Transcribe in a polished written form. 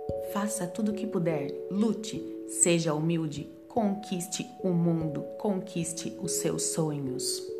Faça tudo o que puder, lute, seja humilde, conquiste o mundo, conquiste os seus sonhos.